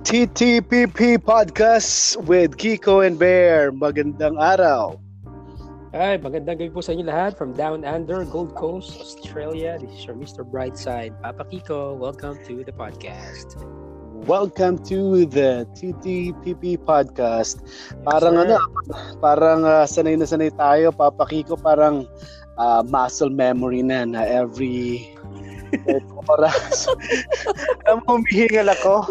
TTPP Podcast with Kiko and Bear. Magandang araw. Ay, magandang gabi po sa inyo lahat from Down Under, Gold Coast, Australia. This is your Mr. Brightside, Papa Kiko. Welcome to the podcast. Welcome to the TTPP Podcast. Parang sanay na sanay tayo, Papa Kiko, parang muscle memory na every oras. Humihingal ako.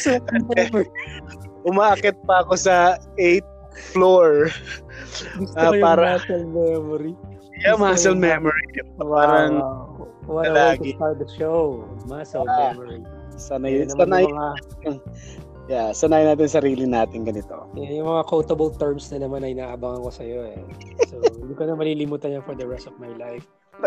Umaakit pa ako sa 8th floor. Para muscle memory. Yeah, muscle memory. Parang what a way to start the show. Muscle memory. Sanay natin sarili natin ganito. Yung mga quotable terms na naman ay naabangan ko sa iyo eh. So, hindi ko na malilimutan yan for the rest of my life.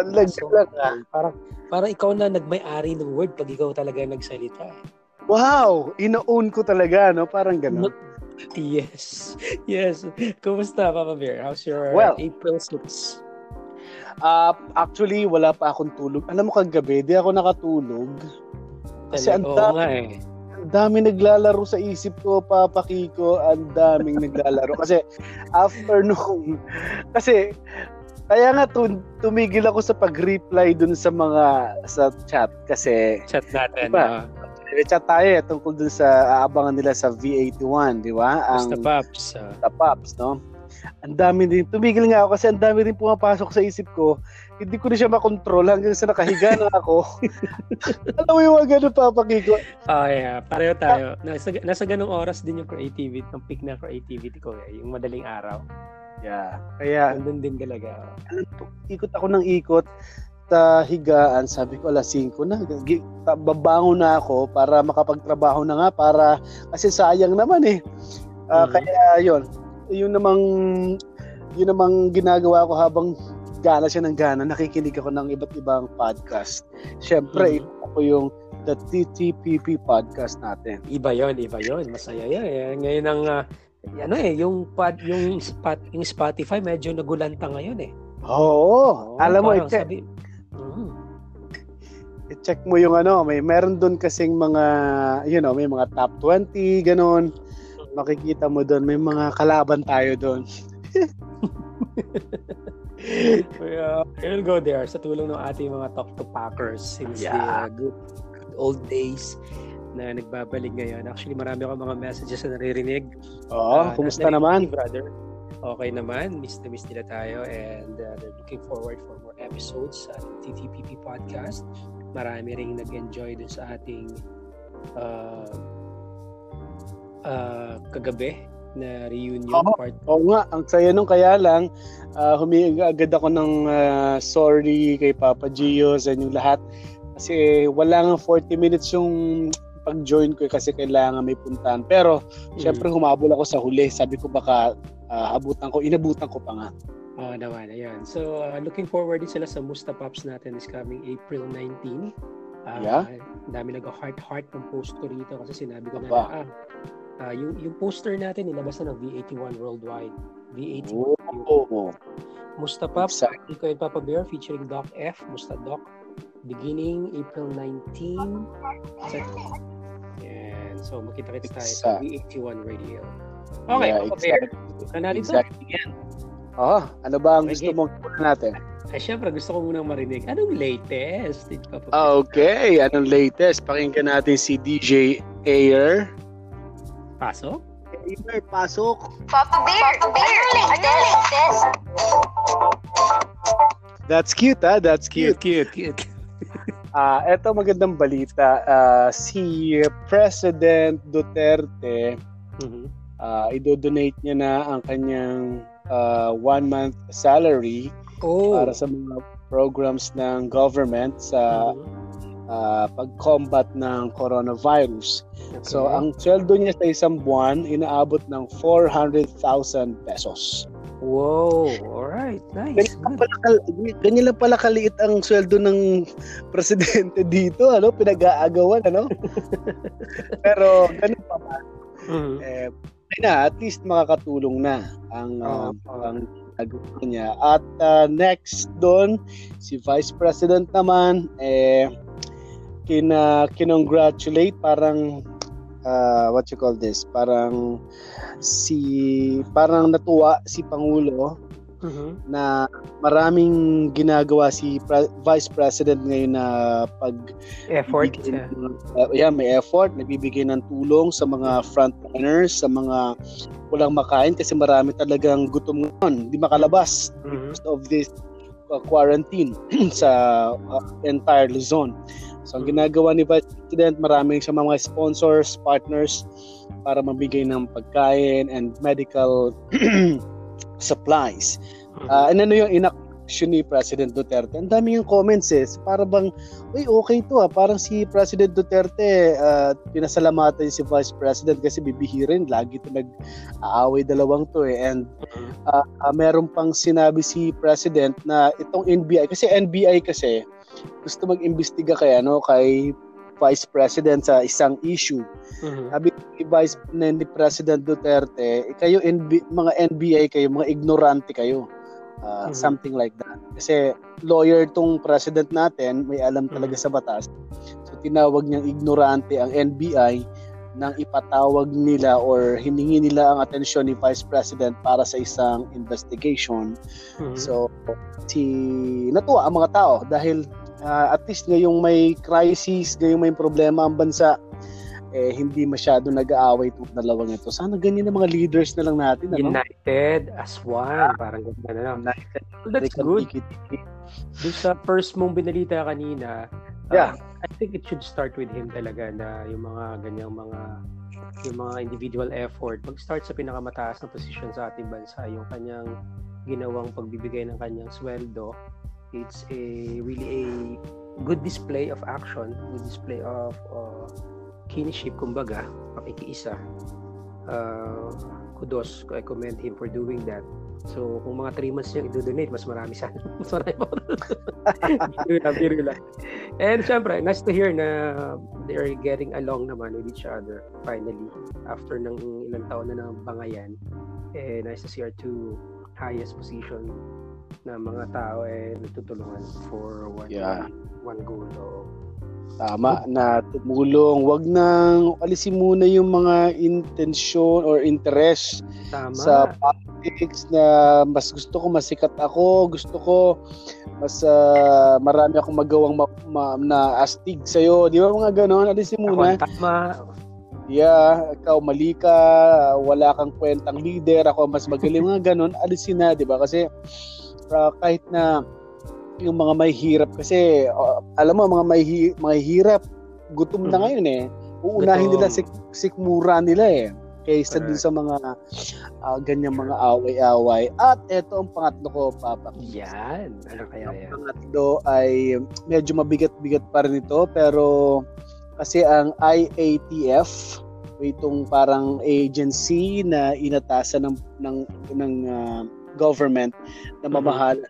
Parang ikaw na nagmay-ari ng word pag ikaw talaga nagsalita. Wow! Ino-own ko talaga, no? Parang gano'n. Yes. Kumusta, Papa Bear? How's your April 6? Actually, wala pa akong tulog. Alam mo, kagabi, di ako nakatulog. Kasi ang dami naglalaro sa isip ko, Papa Kiko. Ang daming naglalaro. Kasi afternoon, kaya nga tumigil ako sa pag-reply dun sa chat kasi chat natin. Diba? Chat tayo tungkol dun sa aabangan nila sa V81, di ba? Ang Pops. No? Ang dami din. Tumigil nga ako kasi ang dami din pumapasok sa isip ko. Hindi ko na siya makontrol hanggang sa nakahiga na ako. Alam mo yung mga ganun, Papa Kiko? Yeah. Pareho tayo. Nasa ganung oras din yung creativity, yung peak na creativity ko yung madaling araw. Yeah. Kaya nandun din talaga. Ikot ako ng ikot sa higaan. Sabi ko, 5 na. Babangon na ako para makapagtrabaho na nga. Kasi sayang naman eh. Kaya yun. Yun namang ginagawa ko habang gana siya ng gana. Nakikinig ako ng iba't ibang podcast. Siyempre, ako yung The TTPP Podcast natin. Iba yon. Masaya yan. Ngayon ang yung Spotify medyo nagulanta ngayon eh. Oo. Alam mo, i-check mo yung meron doon kasing mga, may mga top 20, ganun. Makikita mo doon, may mga kalaban tayo doon. We'll go there sa tulong ng ating mga Talk to Packers since the good old days na nagbabalik ngayon. Actually, marami akong mga messages na naririnig. Kumusta naman? Brother. Okay naman. Miss nila tayo and they're looking forward for more episodes sa TTPP Podcast. Marami ring nag-enjoy dun sa ating kagabi na reunion part. Oo nga, ang saya nung kaya lang humingi agad ako ng sorry kay Papa Gio sa inyong lahat kasi wala nga 40 minutes yung pag-join ko kasi kailangan may puntahan. Pero syempre humabol ako sa huli. Sabi ko baka inabutan ko pa nga. Naman, ayan. So, looking forward din sila sa Musta Pops natin this coming April 19. Dami nag-heart ng post ko rito kasi sinabi ko na yung poster natin nilabas na ng V81 Worldwide. V81. Musta Pops, Kiko and Papa Bear featuring Doc F, Musta Doc, beginning April 19. Yan. So, makita-kits tayo sa V81 Radio. Okay, Papa Bear. Exactly. Ano ba ang gusto mong natin? Syempre, gusto ko munang marinig. Anong latest? Okay, anong latest? Pakinggan natin si DJ Air. Pasok? Air, pasok. Papa Bear, anong latest? That's cute, That's cute. Cute. Eto magandang balita. Si President Duterte, idodonate niya na ang kanyang 1-month salary para sa mga programs ng government sa pag-combat ng coronavirus. Okay. So, ang sweldo niya sa isang buwan, inaabot ng 400,000 pesos. Wow, alright, nice. Ganyan lang pala kaliit ang sweldo ng presidente dito, pinag-aagawan, Pero ganun pa man. At least makakatulong na ang nagawa niya. At next doon, si Vice President naman, kinongratulate, parang what you call this, parang natuwa si Pangulo na maraming ginagawa si Vice President ngayon na effort. May effort, nagbibigay ng tulong sa mga frontliners, sa mga walang makain kasi marami talagang gutom ngayon, hindi makalabas because of this quarantine sa entire Luzon. So ang ginagawa ni Vice President, maraming siya mga sponsors, partners para mabigay ng pagkain and medical supplies. And ano yung inaction ni President Duterte? Ang dami yung comments para bang, okay to parang si President Duterte, pinasalamatan si Vice President kasi bibihirin, lagi ito nag-aaway dalawang to and meron pang sinabi si President na itong NBI, kasi NBI kasi gusto mag-imbestiga kay Vice President sa isang issue. Sabi ni President Duterte, kayo mga NBI kayo, mga ignorante kayo. Something like that. Kasi lawyer tong president natin, may alam talaga sa batas. So tinawag niyang ignorante ang NBI nang ipatawag nila or hiningi nila ang atensyon ni Vice President para sa isang investigation. So natuwa ang mga tao dahil at least ngayong may crisis, ngayong may problema ang bansa, hindi masyado nag-aaway itong dalawang ito. Sana ganyan ang mga leaders na lang natin. United as one. Parang gano'n na. That's good. Doon sa first mong binalita kanina, I think it should start with him talaga na yung mga ganyang yung mga individual effort. Mag-start sa pinakamataas na posisyon sa ating bansa. Yung kanyang ginawang pagbibigay ng kanyang sweldo. It's really a good display of action, good display of kinship, kumbaga, pakikiisa. Kudos, I commend him for doing that. So, kung mga 3 months niya i-donate, mas marami sana. Mas marami pa. Biro lang. And syempre, nice to hear na they're getting along naman with each other finally. After ng ilang taon na ng bangayan, nice to see our two highest position na mga tao nagtutulungan for one goal. Tama na tumulong. Wag nang alisin muna yung mga intensyon or interest sa politics na mas gusto ko masikat ako, gusto ko mas marami akong magawang na astig sa'yo. Di ba mga ganon? Alisin muna. Tama. Ikaw mali ka, wala kang kwentang leader, ako mas magaling, mga ganon. Alisin na, di ba? Kasi kahit na yung mga may hirap kasi alam mo mga may hirap gutom na ngayon uunahin nila sikmura nila kaysa dun sa mga ganyang mga away-away. At eto ang pangatlo ko, Papa. Yan. Ano kaya yan? Ang pangatlo ay medyo mabigat-bigat pa rin ito pero kasi ang IATF, itong parang agency na inatasan ng government na mamahala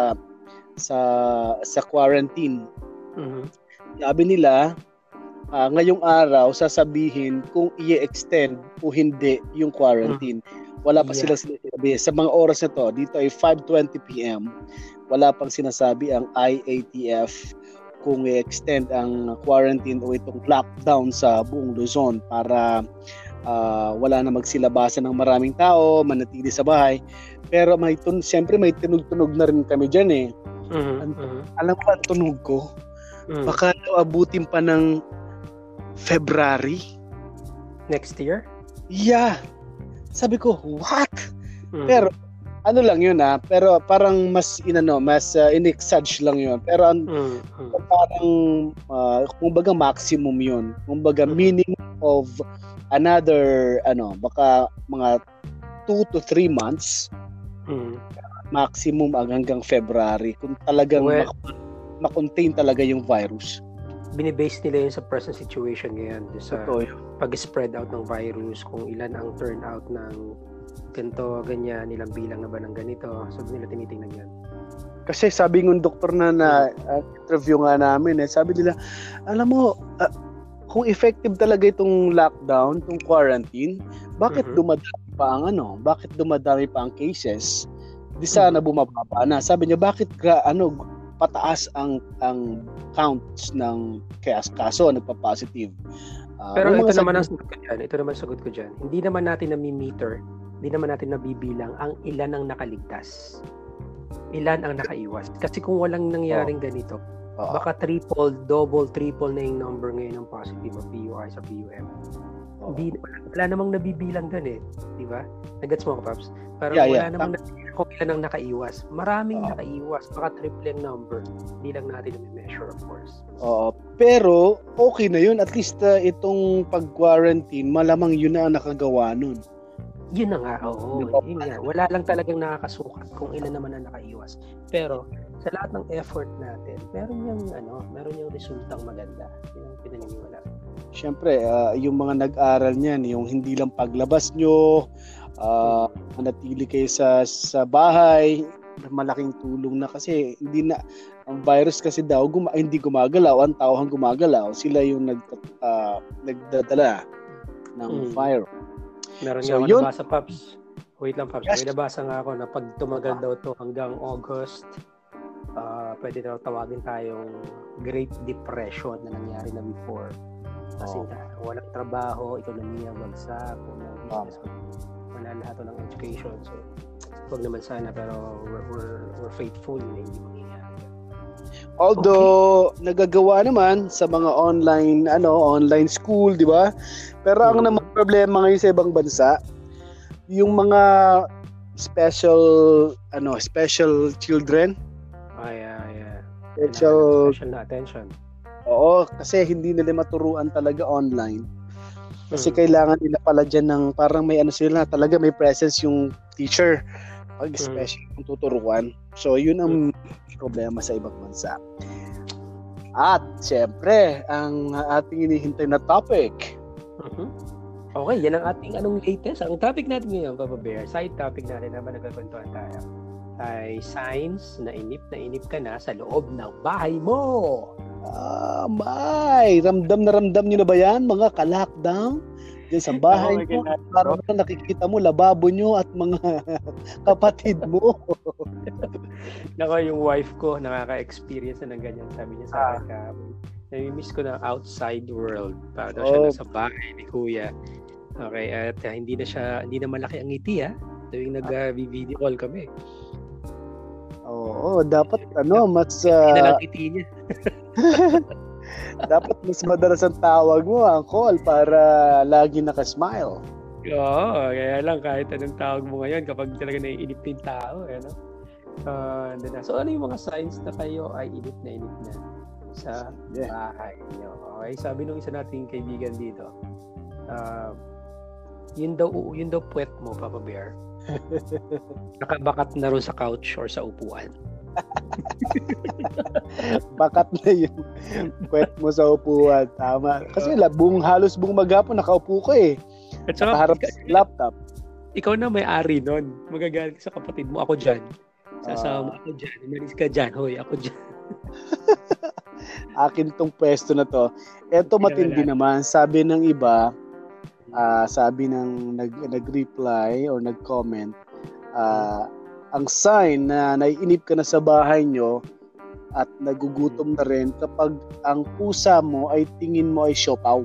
sa quarantine. Sabi nila, ngayong araw sasabihin kung i-extend o hindi yung quarantine. Wala pa sila sinasabi. Sa mga oras na to, dito ay 5:20 PM, wala pang sinasabi ang IATF kung i-extend ang quarantine o itong lockdown sa buong Luzon para wala na magsilabasan ng maraming tao, manatili sa bahay. Pero siyempre may tunog-tunog na rin kami dyan Alam mo ang tunog ko? Baka abutin pa ng February next year? Yeah. Sabi ko, what? Pero ano lang yun pero parang mas in-exage lang yun. Pero parang kumbaga maximum yun. Kumbaga minimum of another baka mga 2 to 3 months. Maximum hanggang February kung talagang ma-contain talaga yung virus. Binibase nila yun sa present situation ngayon sa pag-spread out ng virus, kung ilan ang turnout ng ganito, ganyan, ilang bilang na ba ng ganito. Sabi nila tinitingnan yan. Kasi sabi ng doktor na interview nga namin sabi nila, alam mo, kung effective talaga itong lockdown, itong quarantine, bakit dumadami pa ang cases? Di sana bumababa na. Sabi niya, bakit pataas ang counts ng kaso nagpa-positive? Pero ito naman ang sagot ko dyan. Ito naman sagot ko dyan. Hindi naman natin nami-meter, hindi naman natin nabibilang ang ilan ang nakaligtas. Ilan ang nakaiwas. Kasi kung walang nangyaring ganito, baka triple, double, triple na yung number ngayon ng positive o PUI sa PUM. Wala namang nabibilang doon eh. Di ba? Nagets mo ko, Paps? Pero wala namang nabibilang kung ilan ang nakaiwas. Maraming nakaiwas. Baka triple yung number. Hindi lang natin na-measure, of course. Pero, okay na yun. At least itong pag-quarantine, malamang yun na ang nakagawa nun. Yun na nga, yun nga. Wala lang talagang nakakasukat kung ilan naman ang nakaiwas. Pero, sa lahat ng effort natin, meron yung resultang maganda. Yun ang pinaniniwala. Siyempre, yung mga nag-aral niyan, yung hindi lang paglabas nyo, manatili kayo sa bahay, malaking tulong na kasi hindi na ang virus kasi daw hindi gumagalaw, ang tauhan gumagalaw, sila yung nagdadala ng virus. Meron nga ako nabasa, Paps. Wait lang, Paps. Yes. May nabasa nga ako na pag tumagal daw to hanggang August, pwede daw tawagin tayong Great Depression na nangyari na before. Kasi walang trabaho, ekonomiya bagsak, wala lahat ng education. So, huwag naman sana, pero we're faithful na hindi mangyayari. Although nagagawa naman sa mga online school, di ba? Pero ang naman problema ngayon sa ibang bansa, yung mga special children. Special na attention. Oo, kasi hindi nila maturuan talaga online. Kasi kailangan nila pala dyan ng parang may sila talaga may presence yung teacher pag special yung tuturuan. So yun ang problema sa ibang bansa. At syempre, ang ating hinihintay na topic. Okay, yan ang ating latest. Ang topic natin ngayon, Papa Bear, side topic natin naman nagkakwentuhan tayo, ay signs na inip ka na sa loob ng bahay mo. Ramdam nyo na ba yan, mga ka-lockdown? Diyan sa bahay mo, parang nakikita mo lababo nyo at mga kapatid mo. Nako, yung wife ko nakaka-experience na ng ganyan. Sabi niya sa akin, nami-miss ko na outside world. Para daw siya nasa bahay ni Kuya. Okay, at hindi na malaki ang ngiti tuwing nag-video call kami. Oo, dapat mas hindi na lang ngiti niya. Dapat mas madalas ang tawag mo ang call para lagi naka-smile. Oo, kaya lang kahit anong tawag mo ngayon kapag talaga naiinip yung tao, so ano yung mga signs na kayo ay inip na sa bahay niyo? Okay, sabi nung isa nating kaibigan dito, yun daw puwet mo, Papa Bear. Nakabakat na rin sa couch or sa upuan. Bakat na yung puwet mo sa upuan. Tama. Kasi halos buong maghapon nakaupo ko eh. At saka harap sa laptop. Ikaw na may-ari nun. Magagalit sa kapatid mo. Ako dyan. Sasama ako dyan. Umalis ka dyan. Hoy, ako dyan. Akin tong pwesto na to. Eto matindi naman. Sabi ng iba, sabi ng nag-reply or nag-comment, ang sign na naiinip ka na sa bahay nyo at nagugutom na rin kapag ang pusa mo ay tingin mo ay siopaw.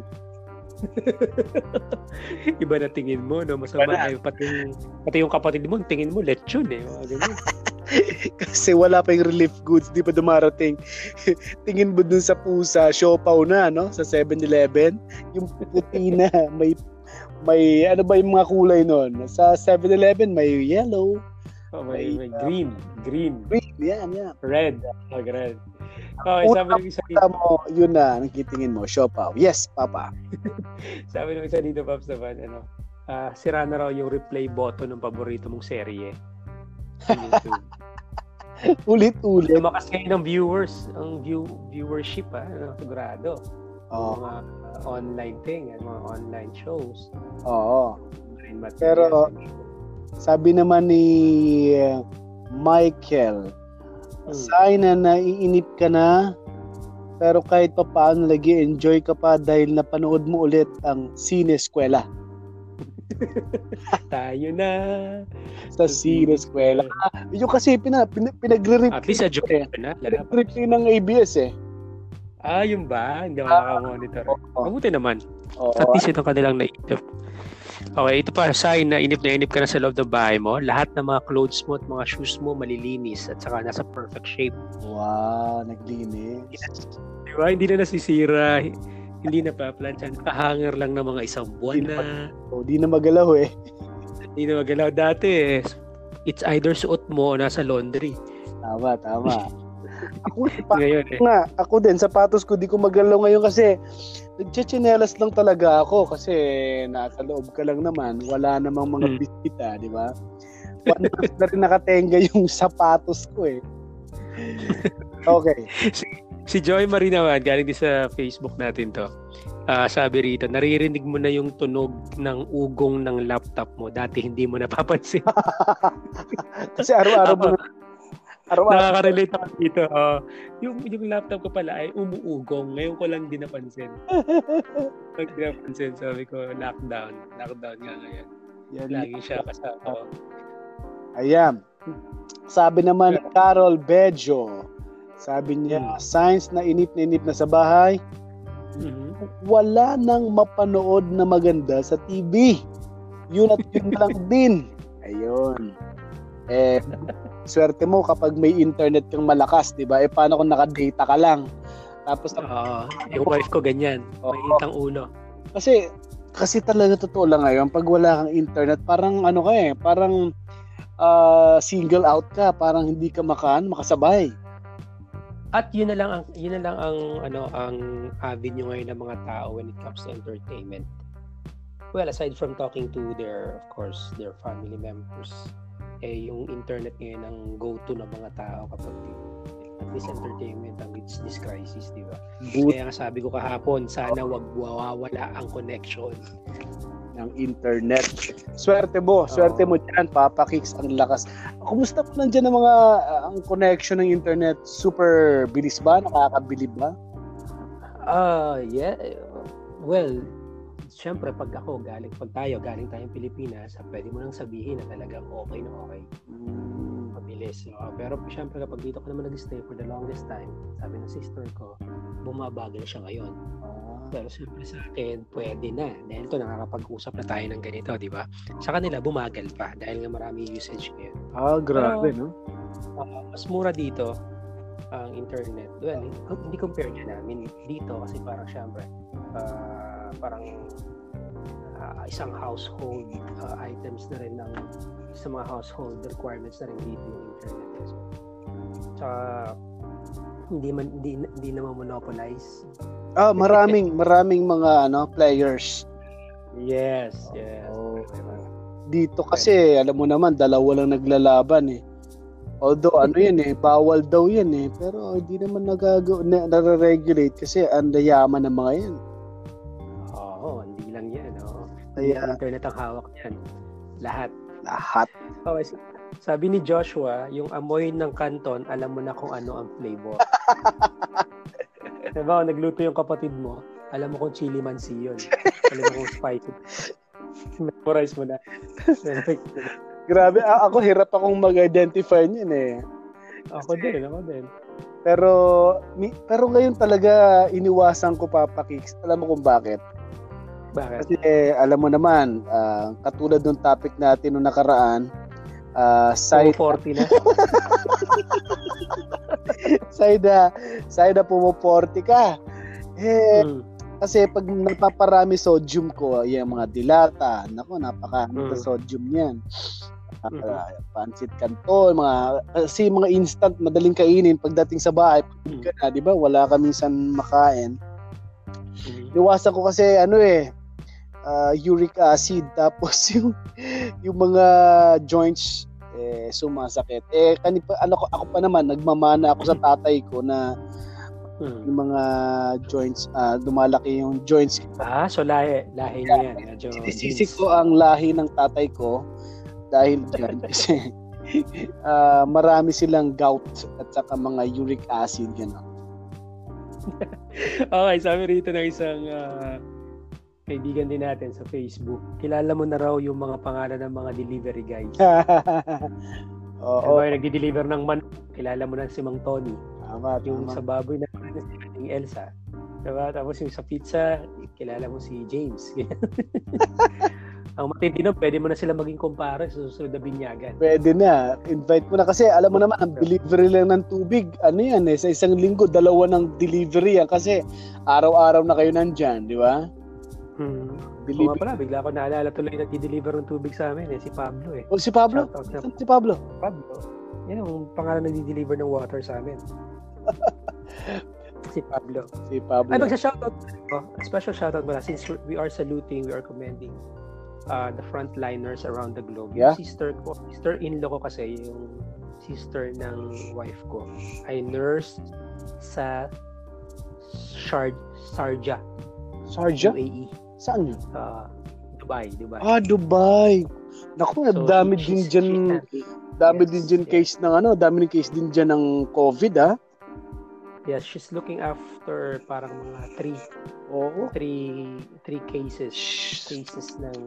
Iba na tingin mo, no? Masama ay pati yung kapatid mo, tingin mo lechon eh. Kasi wala pa yung relief goods, di pa dumarating. Tingin mo dun sa pusa, siopaw na, no? Sa 7-Eleven, yung puti na, may ano ba yung mga kulay nun? Sa 7-Eleven, may yellow. May green. Yan. Red. Red. Sabi ng isa dito mo, yun na, nakitingin mo, siopaw. Yes, Papa. Sabi ng isa dito, Paps, naman, sira na raw yung replay button ng paborito mong serye sa YouTube. Ulit-ulit. Lumakas ngayon ng viewers, ang viewership, sigurado. Mga online mga online shows. Oo. Pero, sabi naman ni Michael, sign na naiinip ka na, pero kahit pa paano nag-enjoy ka pa dahil napanood mo ulit ang Sine Eskwela. Tayo na sa Sine Eskwela. Yung kasi pinagre-replay. At least education na. Pinagre-replay ng ABS eh. Yung ba? Hindi ako monitor. Mabuti naman. At least ito kanilang naisip. Okay, ito pa sign na inip ka na sa loob ng bahay mo. Lahat ng mga clothes mo at mga shoes mo malilinis at saka nasa perfect shape. Wow, naglinis. Diba? Hindi na nasisira. Hindi na pa-plancha. Nakahanger lang ng mga isang buwan na. Hindi na magalaw eh. Hindi na magalaw. Dati it's either suot mo o nasa laundry. Tama. Ngayon Ako din, sapatos ko di ko magalaw ngayon kasi nagchichinelas lang talaga ako kasi nasa loob ka lang naman, wala namang mga bisita, di ba? 1 month na rin nakatenga yung sapatos ko eh. Okay. Si Joy Marie naman, galing din sa Facebook natin to. Sabi rito, naririnig mo na yung tunog ng ugong ng laptop mo. Dati hindi mo napapansin. Kasi araw-araw mo nakaka-relate ako dito. Yung laptop ko pala ay umuugong. Ngayon ko lang din napansin. Pag napansin, sabi ko, lockdown. Lockdown nga ngayon. Lagi siya kasama. Ayan. Sabi naman Carol Bejo, sabi niya, signs na inip na sa bahay, wala nang mapanood na maganda sa TV. Yun at yun lang din. Ayun. Swerte mo kapag may internet kang malakas, di ba? Paano kung naka-data ka lang? Tapos yung wife ko ganyan. May itang ulo. Kasi talaga totoo lang ngayon, pag wala kang internet, parang parang single out ka, parang hindi ka makasabay. At yun na lang ang avenue ngayon ng mga tao when it comes to entertainment. Well, aside from talking to their family members, yung internet ngayon ang go-to ng mga tao kapag at least entertainment amidst this crisis, di ba? Kaya nga sabi ko kahapon, sana wag mawawala ang connection ng internet. Swerte mo dyan, Papa Kicks, ang lakas. Kumusta po nandiyan ang mga ang connection ng internet? Super bilis ba? Nakakabilib ba? Yeah. Well, siyempre pag tayo galing tayong Pilipinas, pwede mo nang sabihin na talagang okay na okay. Mabilis. Pero siyempre kapag dito ka naman nag-stay for the longest time, sabi ng sister ko, bumabagal siya ngayon. Pero siyempre sa akin, pwede na. Dahil ito, nakakapag-usap na tayo ng ganito, di ba? Sa kanila, bumagal pa dahil nga marami usage ngayon. Grabe, no? Mas mura dito ang internet. Well, hindi compare niya namin dito kasi parang siyempre, isang household items na rin sa mga household requirements na rin dito yung internet. So, tsaka hindi naman monopolize. Maraming mga players. Yes. Dito kasi alam mo naman dalawa lang naglalaban eh. Although bawal daw yan eh, pero hindi naman nare-regulate kasi ang yaman ng mga yan. Hindi lang yan. Kaya internet ang hawak niyan. Lahat. Okay. Sabi ni Joshua, yung amoy ng kanton, alam mo na kung ano ang flavor. Diba, nagluto yung kapatid mo, alam mo kung chili mansi yun. Alam mo kung spicy. Memorize mo na. Grabe, ako hirap akong mag-identify niyan eh. Ako din. Pero ngayon talaga iniwasan ko, Papa Kicks. Alam mo kung bakit? Bakit? Kasi alam mo naman, katulad ng topic natin nung nakaraan, side 40 na. Side pumuporti ka. Kasi pag napaparami sodium ko, yung mga dilata, napaka sodium niyan. Pancit canton, mga instant madaling kainin pagdating sa bahay, di ba? Wala ka minsan makain. Iwasan ko kasi uric acid, tapos yung mga joints sumasakit. Ako pa naman nagmamana ako sa tatay ko na yung mga joints, lumalaki yung joints. So lahi niya yan. Sinisisi ko ang lahi ng tatay ko dahil dyan kasi marami silang gout at saka mga uric acid gano'n. Okay, sabi rito ng isang kaibigan din natin sa Facebook, kilala mo na raw yung mga pangalan ng mga delivery guys. Yung nagdi-deliver ng kilala mo na si Mang Tony. Tama. Sa baboy na si Elsa. Diba? Tapos yung sa pizza, kilala mo si James. Ang matindi nun, pwede mo na sila maging kumpare sa susunod na binyagan. Pwede na. Invite mo na kasi alam mo naman, ang delivery lang ng tubig, ano yan sa isang linggo, 2 ng delivery yan kasi araw-araw na kayo nandyan, di ba? Delivery. Pala, bigla ko naalala tuloy na di-deliver ng tubig sa amin, si Pablo . Si Pablo? Si Pablo? Pablo. Yan ang pangalan na di-deliver ng water sa amin. Si Pablo. Ay, magsa-shoutout. Special shoutout muna since we are saluting, we are commending the frontliners around the globe. Yeah. Yung sister-in-law ko kasi, yung sister ng wife ko, ay nurse sa Sharjah. UAE. Saan yun? Dubai. Dubai. Naku, dami din dyan case ng dami ng case din dyan ng COVID, ha? Yes, she's looking after parang mga 3 cases ng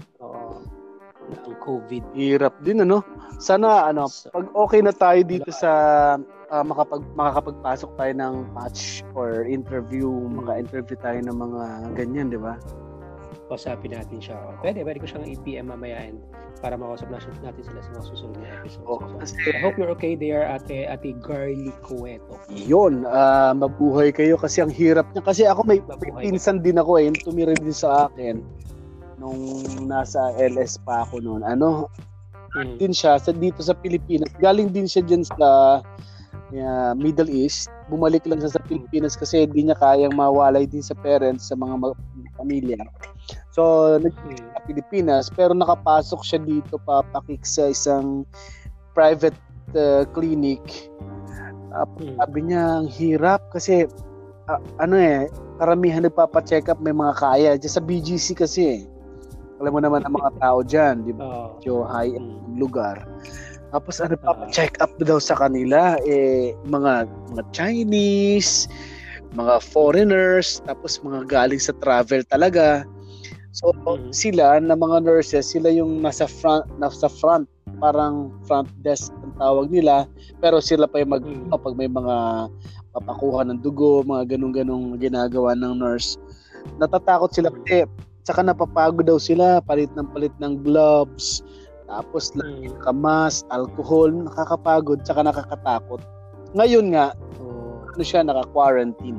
COVID. Hirap din, Sana pag okay na tayo dito sa makakapagpasok tayo ng match or interview, maka-interview tayo ng mga ganyan, di ba? Kausapin natin siya. Pwede ko siyang i-PM mamaya para makausap natin sila sa mga susunod na episodes. I hope you're okay there, Ate Garly Cueto. Yun, mabuhay kayo kasi ang hirap niya. Kasi ako may pinsan din ako yung tumira din sa akin nung nasa LS pa ako noon. Din siya dito sa Pilipinas. Galing din siya dyan sa Middle East. Bumalik lang siya sa Pilipinas kasi hindi niya kayang mawalay din sa parents, sa mga pamilya. So, nag-sa Pilipinas, pero nakapasok siya dito papakik sa isang private clinic. Sabi niya, ang hirap kasi karamihan nagpapacheck up, may mga kaya. Diyan sa BGC kasi, alam mo naman ang mga tao dyan, di ba? So, high-end lugar. Tapos pa-check up daw sa kanila mga Chinese, mga foreigners, tapos mga galing sa travel talaga. So sila na mga nurses, sila yung nasa front, parang front desk ang tawag nila, pero sila pa yung pag may mga papakuha ng dugo, mga ganung-ganung ginagawa ng nurse. Natatakot sila kasi saka napapagod daw sila, palit ng gloves. Tapos naka-mask, alcohol, nakakapagod, tsaka nakakatakot. Ngayon nga, naka-quarantine.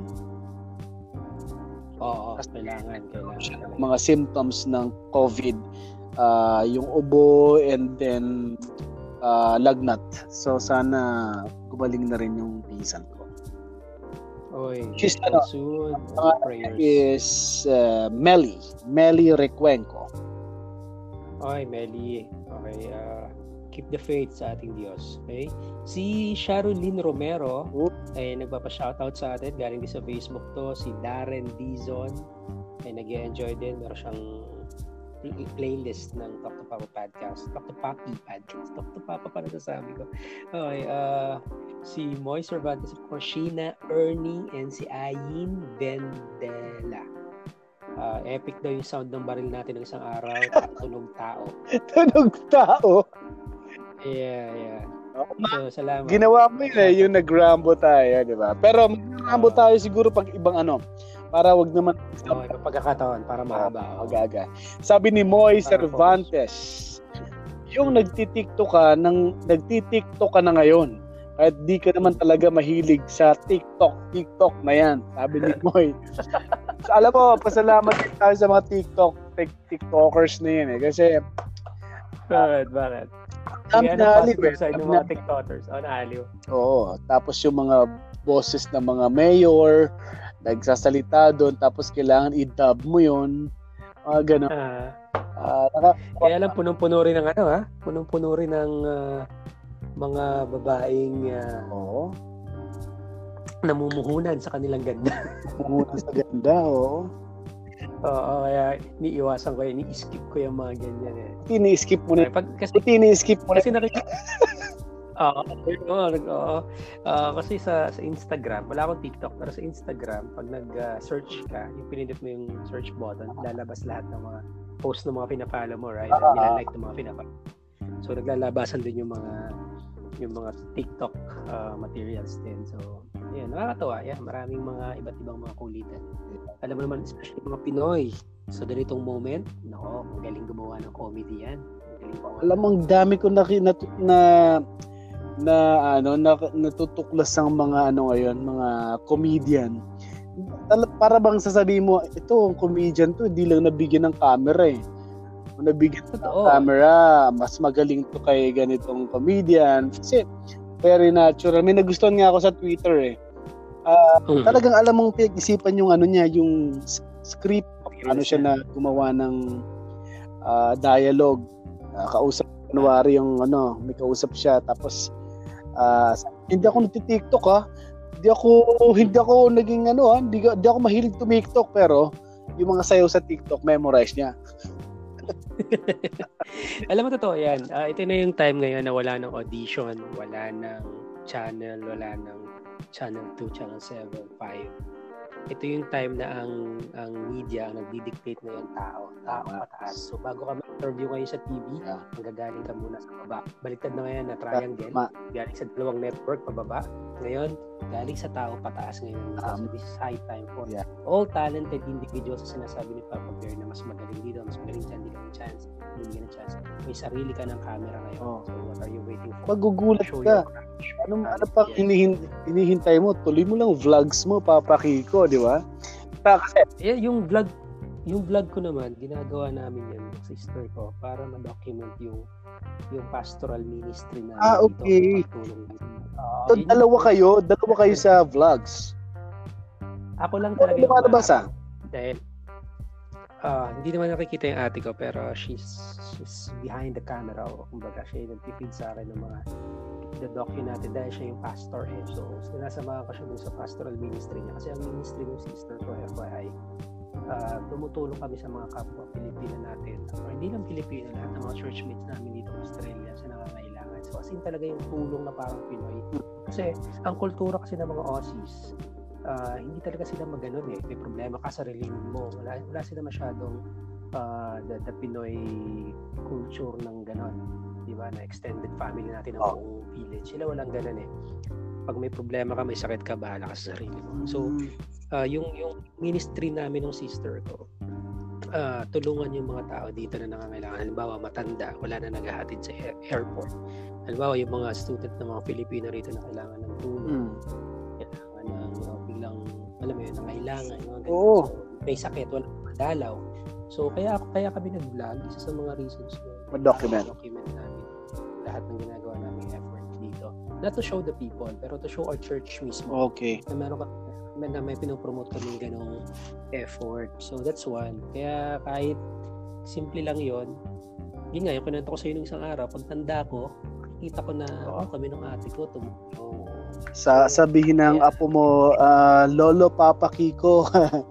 Oo, kailangan. Mga symptoms ng COVID, yung ubo and then lagnat. So sana gumaling na rin yung pinsan ko. She's soon. Prayers. Is Melly Recuenco. Melly. Okay, keep the faith sa ating Diyos. Okay? Si Sharolyn Romero ay nagpapa-shoutout sa atin. Galing din sa Facebook to. Si Darren Dizon ay nag-enjoy din. Meron siyang playlist ng Talk to Papa podcast. Talk to Papi podcast. Talk to Papa para nasasabi ko. Okay, si Moy Cervantes, si Sheena Ernie, and si Ayin Vendela. Epic daw yung sound ng baril natin ng isang araw. Tunog tao. Tunog tao? Yeah. So, salamat. Ginawa mo yun yung nag-rambo tayo, di ba? Pero mag-rambo tayo siguro pag ibang para wag naman pagkakataon, para mahaba. Agaga. Sabi ni Moy Cervantes, yung nagtitiktok ka na ngayon. Kahit di ka naman talaga mahilig sa TikTok na yan. Sabi ni Moy. So, alam mo, pasalamat tayo sa mga TikTokers na yan Kasi Bakit? Naaliw sa mga TikTokers. Naaliw. Oo. Tapos yung mga boses ng mga mayor, nagsasalita doon, tapos kailangan i-dub mo yun. Gano'n. Kaya lang punong-puno rin ng punong-puno rin ng mga babaeng namumuhunan sa kanilang ganda. Namumuhunan sa ganda, oo. Oo, kaya iniiwasan ko, ini-skip ko yung mga ganyan Ini-skip mo na. Kasi nakikita. Kasi sa Instagram, wala akong TikTok, pero sa Instagram, pag nag-search ka, yung pinindot mo yung search button, lalabas lahat ng mga post ng mga pina-follow mo, right? Nilalike ng mga pina-follow. So, naglalabasan din yung mga TikTok materials din. So, Yan, nakakatawa. Yan, maraming mga iba't ibang mga kulitan. Alam mo naman, especially mga Pinoy. So, ganitong moment, nako, magaling gumawa ng comedy yan. Alam mo, ang dami ko natutuklas ang mga ngayon, mga comedian. Para bang sasabihin mo, ito, ang comedian to, hindi lang nabigyan ng camera eh. Kung nabigyan ng camera, mas magaling to kay ganitong comedian. Kasi, very natural. May nagustuhan nga ako sa Twitter eh. Talagang alam mong pinag-isipan yung niya, yung script, siya na gumawa ng dialogue. Kausap kunwari yung may kausap siya, tapos hindi ako nagti-TikTok hindi ako naging hindi ako mahilig TikTok, pero yung mga sayaw sa TikTok memorize niya. Alam mo, totoo yan. Ito na yung time ngayon na wala ng audition, wala ng channel, wala ng channel 2, channel 7, 5. Ito yung time na ang media ang nagdi-dictate ngayon tao pataas. So bago ka ma-interview ngayon sa TV, manggagaling ka muna sa baba. Baliktad na ngayon na triangle, galing sa dalawang network pababa. Ngayon, galing sa tao pataas ngayon. So this is high time for all talented individuals na sinasabi ni Papa Bear na mas magaling dito, mas magaling dyan, hindi ka ng chance. May sarili ka ng camera ngayon. So what are you waiting for? Paggugulat ka. Ano pa hinihintay mo? Tuloy mo lang vlogs mo, Papa Kiko, di ba? Kasi yung vlog ko naman, ginagawa namin yan sa sister ko para ma-document yung pastoral ministry na okay. So, dalawa kayo sa vlogs. Ako lang talaga yung basa. Dahil hindi naman nakikita yung ate ko, pero she's behind the camera, o kumbaga siya yung nag-feed sa akin ng mga the-docu natin dahil siya yung pastor eh. So sinasamahan ko siya dun sa pastoral ministry niya kasi ang ministry ng sister ko, FYI, tumutulong kami sa mga kapwa Pilipino natin, or hindi lang Pilipino, lahat ng mga churchmates namin dito sa Australia sa nangangailangan. So as in talaga yung tulong na parang Pinoy, kasi ang kultura kasi ng mga Aussies, hindi talaga sila maganon eh. May problema ka sa religion mo. Wala sila masyadong the Pinoy culture ng ganon. Diba? Na extended family natin ng buong village. Sila walang ganon eh. Pag may problema ka, may sakit ka, bahala ka sa sarili mo. So, yung ministry namin ng sister ko, tulungan yung mga tao dito na nangangailangan. Halimbawa, matanda, wala na naghahatid sa airport. Halimbawa, yung mga student ng mga Pilipino rito na kailangan ng tulong. Kailangan ng biglang, alam mo yun, nangailangan. So, may sakit, walang madalaw. So, kaya kami nag-vlog. Isa sa mga reasons na document namin lahat ng ginagawa namin effort dito. Not to show the people, pero to show our church mismo. Okay. Na may pinopromote kaming ganong effort. So, that's one. Kaya kahit simple lang yon, yun nga, yung kinanta ko sa iyo ng isang araw, pag tanda ko, kita ko na kami ng ate ko tumulong. Sabihin ng apo mo, Lolo Papa Kiko,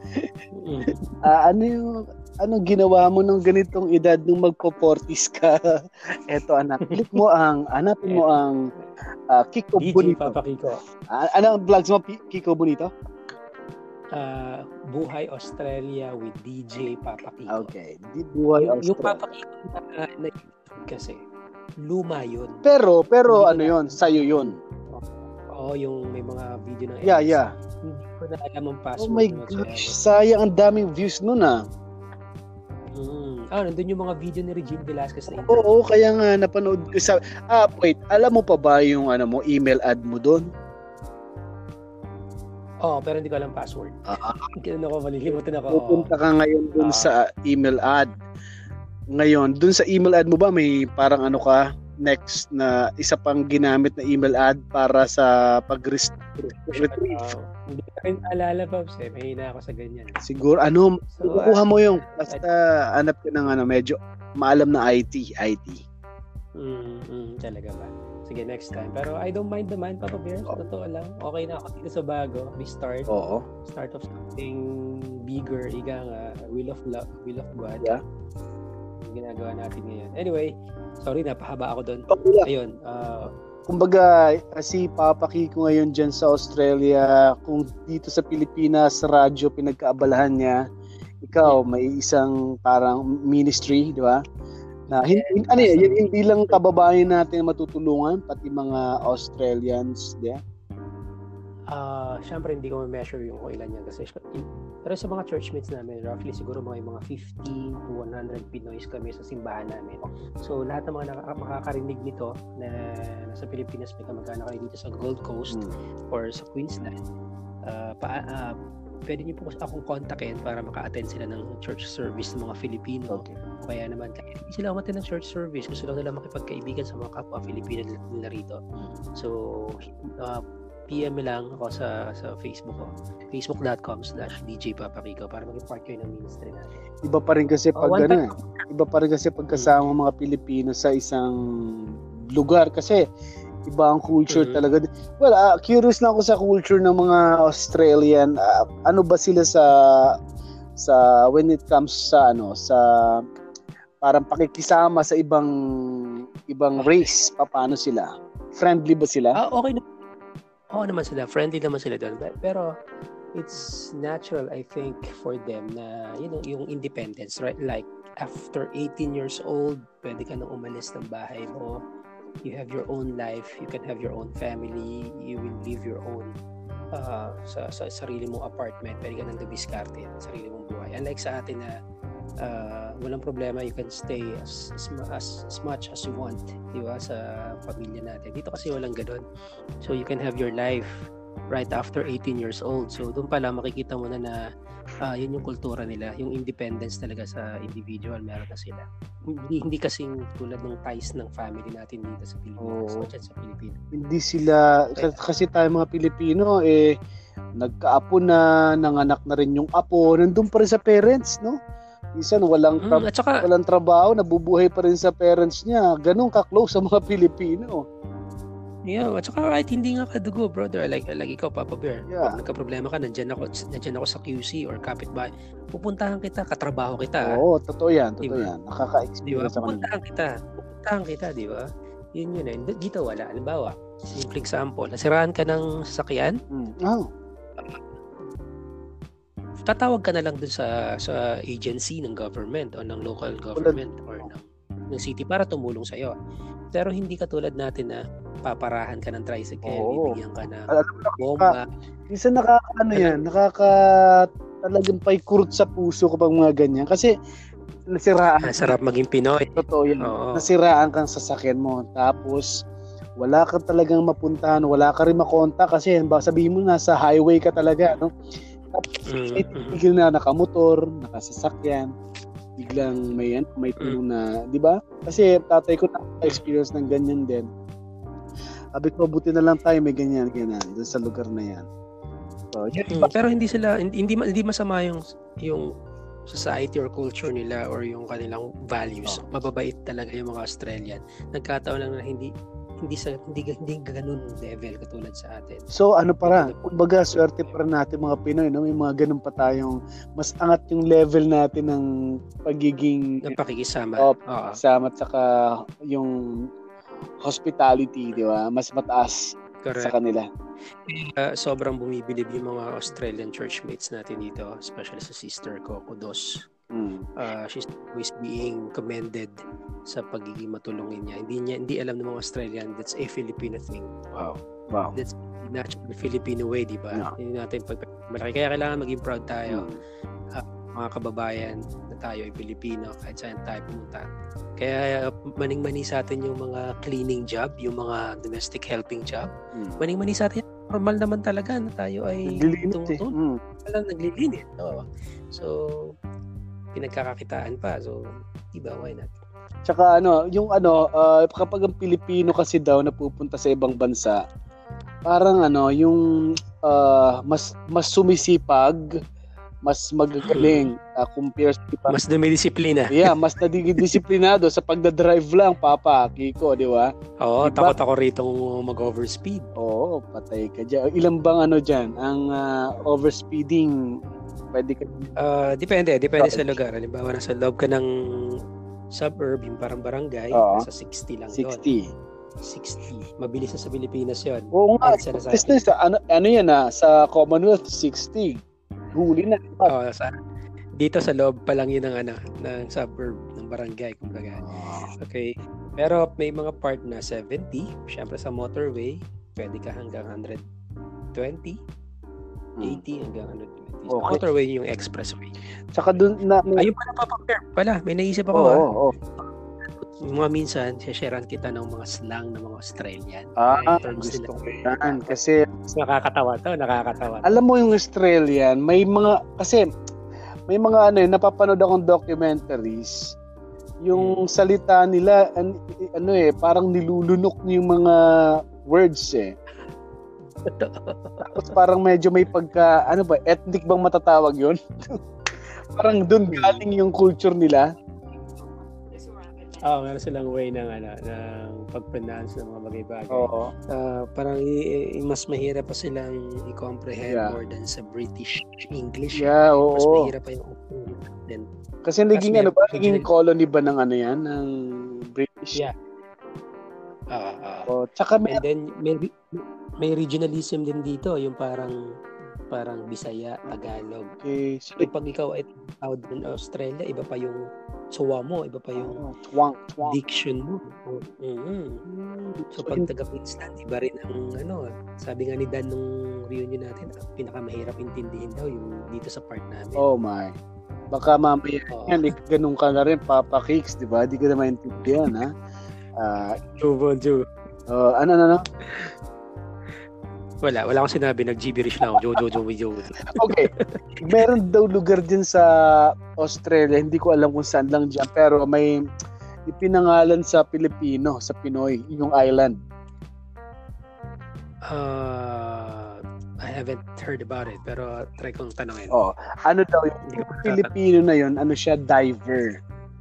ano ginawa mo nung ganitong edad nung magpo-40s ka? Eto anak, hanapin mo ang Kiko DJ Bonito. Papa Kiko. Ano ang vlogs mo, Kiko Bonito? Buhay Australia with DJ Papa Kiko. Okay, Buhay Australia. Yung Papa Kiko na kasi luma yun. Pero ano yun? Sa'yo yun? Oo, yung may mga video ng Yeah. Hindi ko na alam ang password. Oh my gosh, sayang ang daming views nun nandun yung mga video ni Regine Velasquez na interview. Oo, kaya nga napanood ko sa wait, alam mo pa ba yung email ad mo doon? Pero hindi ko alam password. Kailan ako malilimutan ako. Pupunta ka ngayon doon sa email ad. Ngayon, doon sa email ad mo ba may parang next na isa pang ginamit na email ad para sa pag-retrieve? Hindi ko rin alala, Pops. May hina ako sa ganyan. Siguro, kukuha mo yung basta hanap ka ng medyo maalam na IT. Talaga ba? Sige, next time. Pero I don't mind naman, Papa Bear. Totoo lang. Okay na ako dito sa bago. We start. Start of something bigger. Ika nga, will of God. Yeah. Ginagawa natin ngayon. Anyway, sorry, napahaba ako doon. Ayun. Kumbaga, si Papa Kiko ngayon dyan sa Australia, kung dito sa Pilipinas, radyo pinagkaabalahan niya, ikaw, may isang parang ministry, di ba? Na hindi lang kababayan natin matutulungan, pati mga Australians, di ba? Siyempre hindi ko ma-measure yung kung ilan yan kasi pero sa mga churchmates namin roughly siguro mga 50 to 100 Pinoys kami sa simbahan namin. So lahat ng mga makakarinig nito na nasa Pilipinas, may kamag-anak kayo dito sa Gold Coast or sa Queensland, pwede niyo po akong kontakin para maka-attend sila ng church service ng mga Filipino. Okay. Kaya naman, kahit hindi sila umattend ng church service, gusto lang nila makipagkaibigan sa mga kapwa Filipino nila rito. So, PM lang ako sa Facebook ko. Facebook.com/DJ Papakiko para maging part kayo ng ministry natin. Iba pa rin kasi pag kasama mga Pilipino sa isang lugar kasi iba ang culture talaga. Well, curious lang ako sa culture ng mga Australian. Ano ba sila sa when it comes sa parang pakikisama sa ibang race, paano sila? Friendly ba sila? Okay na. Oo naman sila, friendly naman sila doon. Pero it's natural, I think, for them na, yung independence, right? Like, after 18 years old, pwede ka nang umalis ng bahay mo. You have your own life, you can have your own family, you will live your own sa sarili mong apartment, pwede ka nang dumiskarte sa sarili mong buhay. Unlike sa atin na walang problema, you can stay as much as you want, di ba, sa pamilya natin. Dito kasi walang ganoon. So you can have your life right after 18 years old. So doon pala makikita mo na yun yung kultura nila, yung independence talaga sa individual, meron na sila. Hindi kasing tulad ng ties ng family natin dito sa Pilipinas, sa Pilipinas. Hindi sila, kasi tayo mga Pilipino, nagkaapo na, nanganak na rin yung apo, nandun pa rin sa parents, no? Minsan walang trabaho, nabubuhay pa rin sa parents niya. Ganun ka-close sa mga Pilipino. Yeah, at saka right, hindi nga kadugo, brother. Like ikaw, Papa Bear. Yeah. Pag nagka-problema ka, nandiyan ako sa QC or kapitbahay. Pupuntahan kita, katrabaho kita. Oo, totoo yan. Nakaka-experience ako. Pupuntahan kita, di ba? Yun. Dito wala. Halimbawa, simple example, nasiraan ka ng sasakyan. Tatawag ka na lang dun sa agency ng government o ng local government or ng city para tumulong sa'yo. Pero hindi katulad natin na paparahan ka ng tricycle, bibigyan ka ng bomba. Minsan talagang paikurot sa puso kapag mga ganyan. Kasi nasiraan. Sarap maging Pinoy. Totoo yan. Nasiraan kang sasakyan mo. Tapos, wala ka talagang mapuntahan, wala ka rin makontak kasi sabihin mo nasa highway ka talaga, no? Biglang na nakamotor, nakasasakyan, biglang may tulong na, di ba? Kasi tatay ko na-experience ng ganyan din. Sabi ko, buti na lang tayo may ganyan doon sa lugar na yan. So, pero hindi masama yung society or culture nila or yung kanilang values. Mababait talaga yung mga Australian. Nagkataon lang na hindi ganun level katulad sa atin. So kumbaga swerte pa rin natin mga Pinoy, no? May mga ganun pa tayong mas angat yung level natin ng pagiging ng pakikisama. Pakikisama at saka yung hospitality, di ba? Mas mataas. Correct. Sa kanila. Sobrang bumibilib yung mga Australian churchmates natin dito, especially sa sister ko, Kudos. She's always being commended sa pagiging matulungin niya. Hindi alam ng mga Australian that's a Filipino thing. Wow. That's natural Filipino way, di ba? Hindi natin malaki. Kaya kailangan maging proud tayo. Mga kababayan na tayo ay Pilipino kahit saan tayo pumunta. Kaya maning-mani sa atin yung mga cleaning job, yung mga domestic helping job. Maning-mani sa atin, normal naman talaga na tayo ay tumutulong. Naglilinis. So, pinagkakakitaan pa. So, diba, why not? Tsaka kapag ang Pilipino kasi daw napupunta sa ibang bansa, parang yung mas sumisipag, mas magagaling compare sa iba. Mas dumidisiplina. Yeah, mas nadidisiplinado sa pagdadrive lang, Papa Kiko, di ba? Oo, diba? Takot ako rito mag-overspeed. Oo, patay ka dyan. Ilan bang dyan? Ang overspeeding, pwede ka... Depende sa lugar. Halimbawa, nasa loob ka ng suburb, yung parang barangay, nasa 60 lang yun. 60. Mabilis na sa Pilipinas yun. Oo nga. Sa Commonwealth, 60. Huli na. Dito sa loob pa lang yun ng suburb, ng barangay, kumbaga. Okay. Pero may mga part na 70. Siyempre sa motorway, pwede ka hanggang 100 20, 80 hanggang 120. Okay. Motorway yung expressway. Tsaka dun na... Ayun pala, may naisip ako. Oo. Mga minsan, sharean kita ng mga slang ng mga Australian. Gusto ko yan. Kasi... Nakakatawa. Alam mo yung Australian, may mga napapanood akong documentaries. Yung salita nila, parang nilulunok yung mga words eh. Tapos parang medyo may pagka, ethnic bang matatawag yun? Parang dun galing yung culture nila. Meron silang way ng pag-pronounce ng mga bagay-bagay. Oo. Parang mas mahirap pa silang i-comprehend more than sa British English. Yeah, oo. Mas mahirap pa yung then. Kasi naging colony ba ng ng British? Yeah. Tsaka and then may regionalism din dito, yung parang Bisaya, Tagalog. Okay. So, pag ikaw ay tawag in Australia, iba pa yung suwa mo, iba pa yung twang. diction mo. So pag taga-Queensland, iba rin ang sabi nga ni Dan nung reunion natin, pinakamahirap intindihin daw yung dito sa part namin. Oh my. Baka mamaya yan, ganun ka na rin, Papa Kicks, di ba? Di ka na maintindihan, ha? Joe. Ano? Wala akong sinabi, nag-gibberish lang ako. Joe. Okay. Meron daw lugar din sa Australia, hindi ko alam kung saan lang dyan, pero may ipinangalan sa Pilipino, sa Pinoy, yung island. I haven't heard about it, pero try kong tanongin. Ano daw yung Pilipino na yun, siya, diver.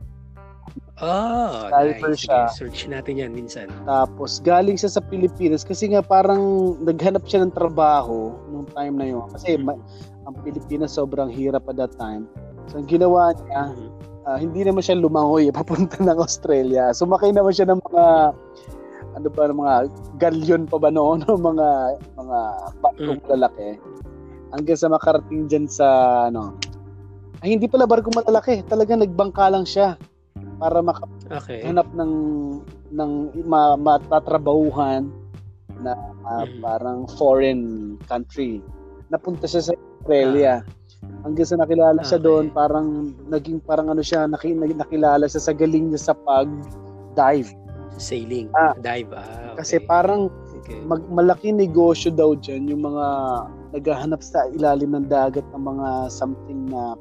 Diver siya. Search natin yan minsan. Tapos galing siya sa Pilipinas kasi nga parang naghanap siya ng trabaho nung time na yun. Kasi ang Pilipinas sobrang hirap at that time. So ang ginawa niya, hindi naman siya lumangoy papunta ng Australia. Sumakay naman siya ng mga mga galyon pa ba noon, mga barkong lalaki. Hanggang sa makarating dyan sa hindi pala barkong malalaki, talagang nagbangka lang siya para makahanap ng matatrabahuhan na parang foreign country. Napunta siya sa Australia. Hanggang sa nakilala siya doon, parang naging siya, nakilala siya sa galing niya sa pag-dive. Sailing, dive. Okay. Kasi parang malaki negosyo daw dyan yung mga naghahanap sa ilalim ng dagat ng mga something na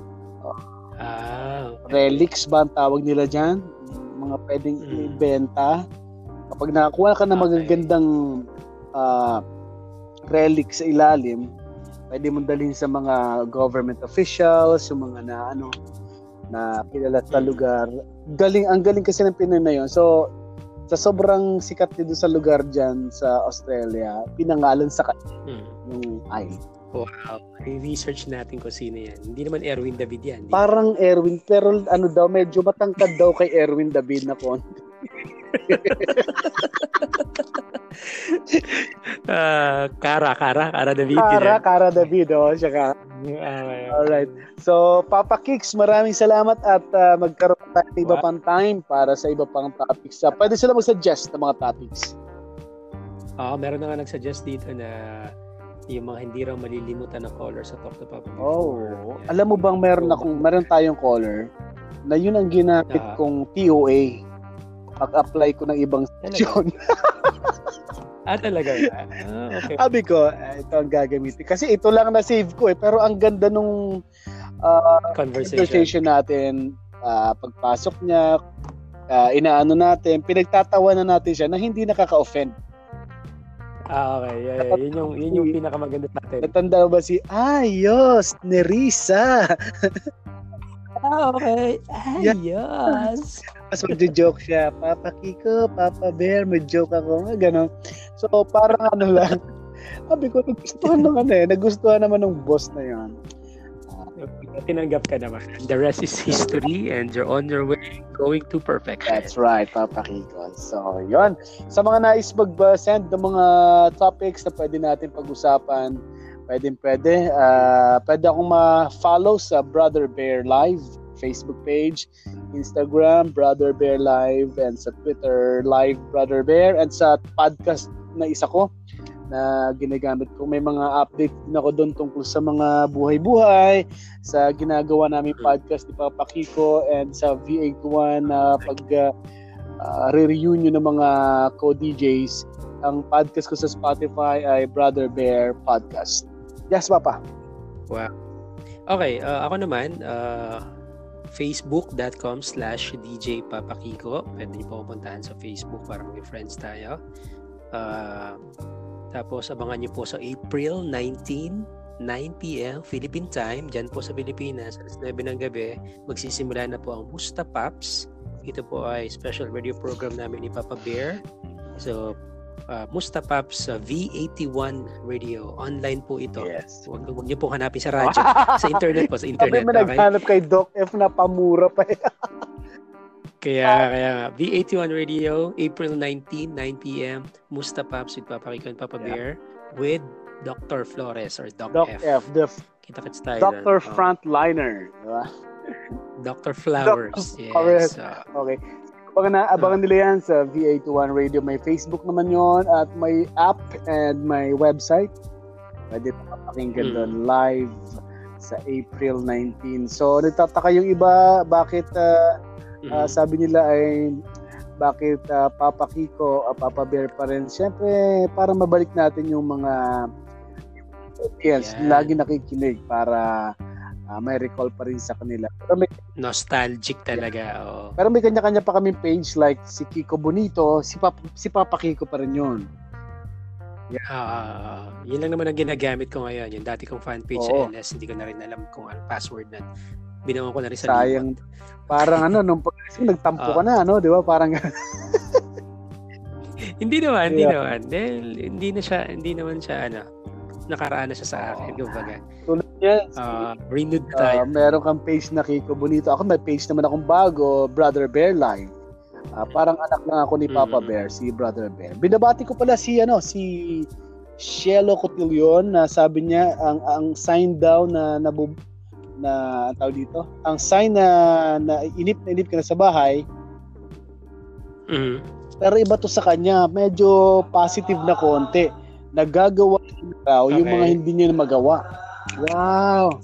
relics ba ang tawag nila dyan? Mga pwedeng ibenta. Kapag nakakuha ka ng magagandang relics sa ilalim, pwede mong dalhin sa mga government officials, yung mga na kilala sa lugar. Ang galing kasi ng Pinoy na yun. So, sa sobrang sikat dito sa lugar dyan sa Australia, pinangalan sa kanya yung island. Wow. I-research natin kung sino yan. Hindi naman Erwin David yan. Parang Erwin, pero daw, medyo matangkad daw kay Erwin David na konti. Kara David. Kara David, siya ka. Alright. So, Papa Kicks, maraming salamat at magkaroon tayo ng iba pang time para sa iba pang topics. Pwede sila mag-suggest ng mga topics. Meron na nga nag-suggest dito na yung mga hindi raw malilimutan na caller sa Talk to Papa. Alam mo bang meron tayong caller na yun ang ginamit kong TOA pag-apply ko ng ibang section. Talaga? Okay. Sabi ko, ito ang gagamitin. Kasi ito lang na-save ko pero ang ganda nung conversation natin. Pagpasok niya, inaano natin, pinagtatawanan natin siya na hindi nakaka-offend. Okay. Yeah. Yun yung pinakamaganda natin. Natanda ba si Ayos Nerissa? Okay. Ayos. Mas mag-joke siya. Papa Kiko, Papa Bear, mag-joke ako. Ganon. So, parang lang. Sabi ko, nagustuhan naman ng boss na yan. Tinanggap ka naman. The rest is history and you're on your way going to perfection. That's right, Papa Kiko. So, yun. Sa mga nais mag-send ng mga topics na pwede natin pag-usapan, pwede. Pwede akong ma-follow sa Brother Bear Live Facebook page, Instagram, Brother Bear Live, and sa Twitter, Live Brother Bear, and sa podcast na isa ko, na ginagamit ko. May mga update din ako doon tungkol sa mga buhay-buhay, sa ginagawa namin podcast ni Papa Kiko, and sa V81 na re-reunion ng mga co-DJs. Ang podcast ko sa Spotify ay Brother Bear Podcast. Yes, Papa. Wow. Okay, ako naman, facebook.com/DJ Papa Kiko. Pwede niyo po pupuntahan sa Facebook para maging friends tayo. Tapos abangan niyo po sa April 19, 9 p.m. Philippine time, dyan po sa Pilipinas, alas 9 ng gabi, magsisimula na po ang Musta Pops. Ito po ay special radio program namin ni Papa Bear. So, Musta Pops V81 Radio. Online po ito. Yes. Huwag niyo po hanapin sa radyo. Sa internet po, sa internet. Sabi mo naghanap kay Doc F na pamura pa. Kaya V81 Radio, April 19, 9 p.m. Musta Pops with Papa Kiko and Papa Bear with Dr. Flores or Doc F. Kita-kits tayo. Dr. Frontliner. Diba? Dr. Flowers. Yes. Okay. Abangan nila yan sa V81 Radio. May Facebook naman yon at may app and may website. Pwede pakinggan doon live sa April 19. So, nagtataka yung iba bakit sabi nila ay bakit Papa Kiko, Papa Bear pa rin. Siyempre, para mabalik natin yung mga lagi nakikinig para may recall pa rin sa kanila. Pero nostalgic talaga. Oh. Pero may kanya-kanya pa kaming page like si Kiko Bonito, si Papa Kiko pa rin yun. Yun lang naman ang ginagamit ko ngayon. Yung dati kong fan page sa LS, hindi ko na rin alam kung ano password na. Binawan ko na rin sa sayang. Parang nung nagtampo ka na, di ba? Parang Hindi naman. Dahil hindi naman siya nakaraan na siya sa akin. Kumbaga. Tulad yan. Renewed tayo. Meron kang page na Kiko Bonito. Ako may page naman akong bago, Brother Bear Live. Parang anak lang ako ni Papa Bear, si Brother Bear. Binabati ko pala si Shelo Cotillion na sabi niya ang sign daw na tawag dito. Ang sign na inip ka na sa bahay. Pero iba to sa kanya, medyo positive na konti. Nagagawa raw yung mga hindi niya magawa. Wow.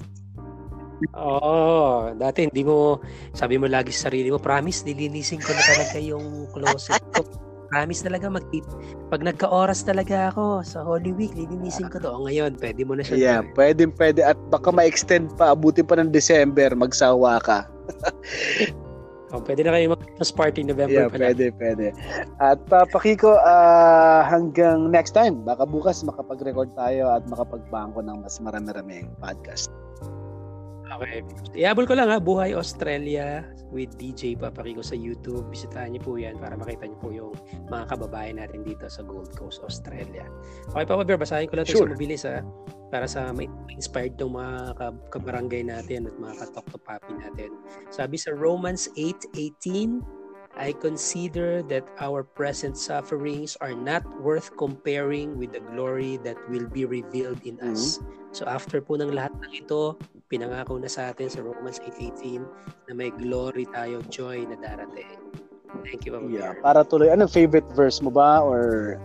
Dati hindi mo, sabi mo lagi sa sarili mo, promise, nilinisin ko na talaga yung closet ko. Promise talaga, pag nagka-oras talaga ako sa Holy Week, lilinisin ko to. Ngayon, pwede mo na siya. Yeah, pwede. At baka ma-extend pa, abuti pa ng December, magsawa ka. Pwede na kayo mag-Christmas party November pa lang. Pwede. At Papa Kiko, hanggang next time, baka bukas makapag-record tayo at makapagbangko ng mas marami-raming podcast. Okay. Iabol ko lang Buhay Australia with DJ Papa Kiko sa YouTube. Bisitahan niyo po yan para makita niyo po yung mga kababayan natin dito sa Gold Coast, Australia. Okay, Papa Bear, basahin ko lang ito sa mabilis para sa may inspired tong mga kabarangay natin at mga katok to papi natin. Sabi sa Romans 8:18, I consider that our present sufferings are not worth comparing with the glory that will be revealed in us. So after po ng lahat ng ito, pinangako na sa atin sa Romans 8:18 na may glory tayo, joy na darating. Thank you, Papa Bear. Para tuloy, anong favorite verse mo ba or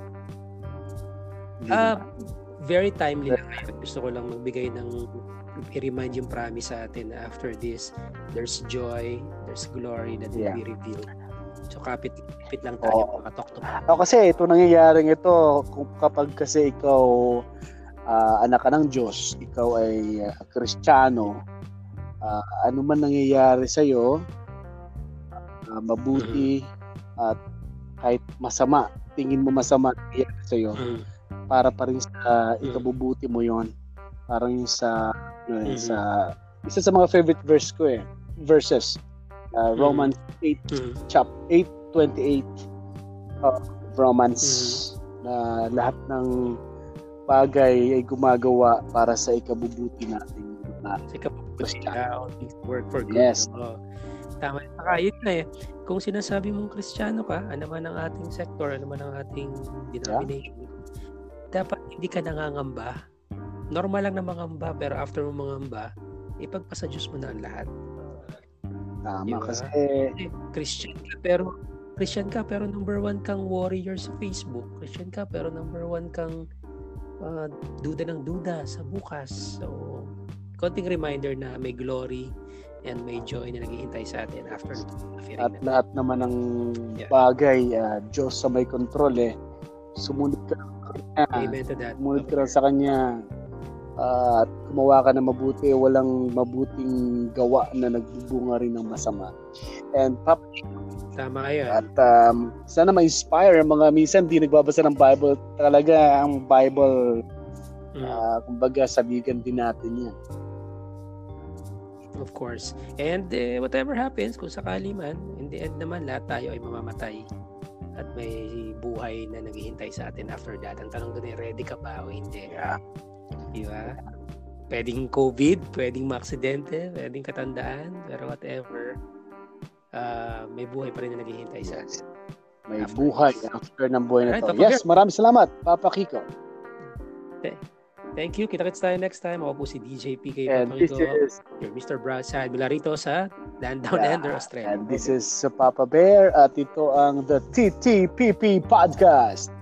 very timely lang ngayon. Gusto ko lang magbigay i-remind yung promise sa atin na after this, there's joy, there's glory that will be revealed. So kapit lang tayo makatok-tok. Kasi ito nangyayaring ito kapag kasi ikaw anak ka ng Diyos, ikaw ay Kristiyano, ano man nangyayari sa'yo, mabuti at kahit masama, tingin mo masama nangyayari sa'yo, para pa rin sa ikabubuti mo yon. Parang yung sa isa sa mga favorite verses, Romans 8:28 Romans, na lahat ng bagay ay gumagawa para sa ikabubuti natin. Sa ikabubuti work for good. Yes. Tama. Saka yun na kung sinasabi mong Kristiyano ka, ano man ang ating sector, ano man ang ating denomination, dapat hindi ka nangangamba. Normal lang na mangamba, pero after mo mangamba, ipagpasa Diyos mo na ang lahat. Tama, diba? Kasi Christian ka pero number 1 kang warrior sa Facebook. Christian ka pero number 1 kang duda ng duda sa bukas. So, konting reminder na may glory and may joy na naghihintay sa atin after at lahat naman ng bagay, Diyos sa may kontrol Sumunod ka lang sa Kanya. Amen to that. Sumunod ka lang sa Kanya. At gumawa ka na mabuti, walang mabuting gawa na nagbubunga rin ng masama. And tama yan. At sana ma-inspire mga minsan di nagbabasa ng Bible. Talaga ang Bible, kumbaga sabigan din natin yan. Of course. And whatever happens, kung sakali man, in the end naman, lahat tayo ay mamamatay. At may buhay na naghihintay sa atin after that. Ang tanong doon ready ka ba o hindi? Yeah. Diba? Pwedeng COVID, pwedeng maaksidente, pwedeng katandaan, pero whatever, may buhay pa rin na naghihintay sa atin. May buhay after ng buhay na to. Yes, maraming salamat, Papa Kiko. Thank you. Kita-kits tayo next time. Ako po si DJ PK And this is your Mr. Brasad mula rito sa Down Under, Australia. And this is Papa Bear at ito ang The TTPP Podcast.